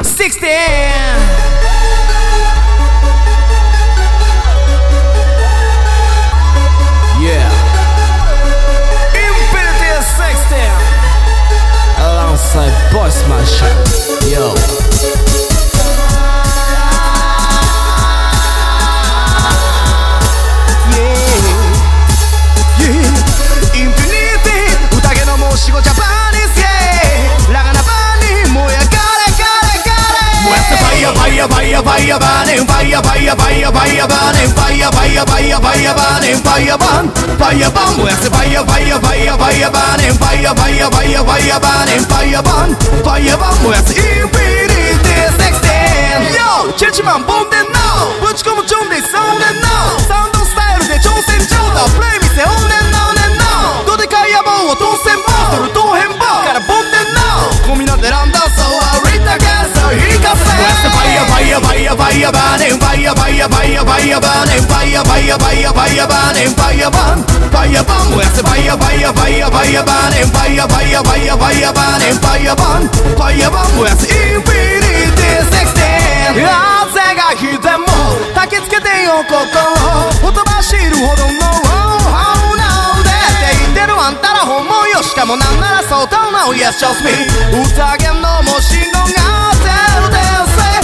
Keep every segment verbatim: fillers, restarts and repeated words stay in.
Yeah, Infinity sixteen alongside Bossman Shop. Yo. Fire, fire, burning, fire, fire, fire, fire, burning, fire, fire, fire, fire, burning, fire, burn, fire, burn. Where's the fire, fire, fire, fire, burning, fire, fire, fire, fire, burning, fire, burn, fire, burn. Where's the Infinity sixteen? Yo, 칠 칠 만 본 데 now.ぶち込む準備そうね now。サウンドスタイルで挑戦状態。プレイ見せおね now ね now。どでかい野望を当選棒。それ当変棒からボンで now。込みのでランダーそう歩いたからそう引かせ。Fire, fire, fire, fire, burning, fire, fire, fire, fire, burning, fire, fire, fire, fire, burning, fire, burn, fire, burn. Where's the fire, fire, fire, fire, burning, fire, fire, fire, fire, burning, fire, burn, fire, burn. Where's the Infinity sixteen? 風が来ても焚きつけてよ心ほとばしるほどの Oh no でって言ってるあんたら本物よしかもなんならそうと No yes just me 宴のも信号がゼロで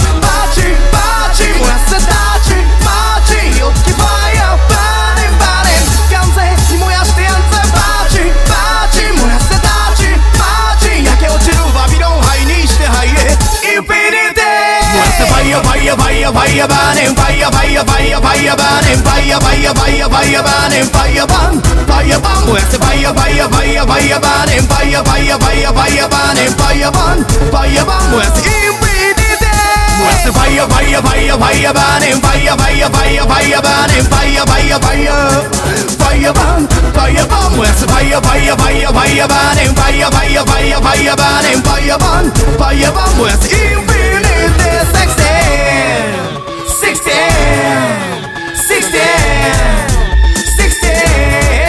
燃やせたちマジよきファイアバーニンバーニン完全に燃やしてやんぜバチバチ燃やせたちマジ焼け落ちるバビロンハイにしてハイへインフィニティ燃やせファイアファイアファイアファイアバーニンファイアファイアファイアファイアバーニンファイアファイアファイアファイアバーニンファイアバンファイアバン燃やせファイアファイアファイアファイアバーニンファイアファイアファイアファイアバーニンファイアバンファイアバン燃やせインフィニティWhere's the fire, fire, fire, fire, burning, fire, fire, fire, fire, burning, fire, fire, fire, fire, burn, fire, burn. Where's the fire, fire, fire, fire, burning, fire, fire, fire, fire, burning, fire, burn, fire, burn. Where's the Infinity sixteen, sixteen, sixteen,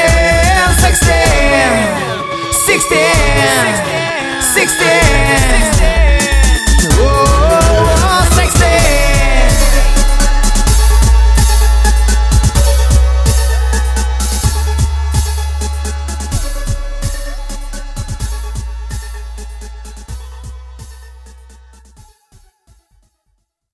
sixteen, sixteen, sixteen, sixteen.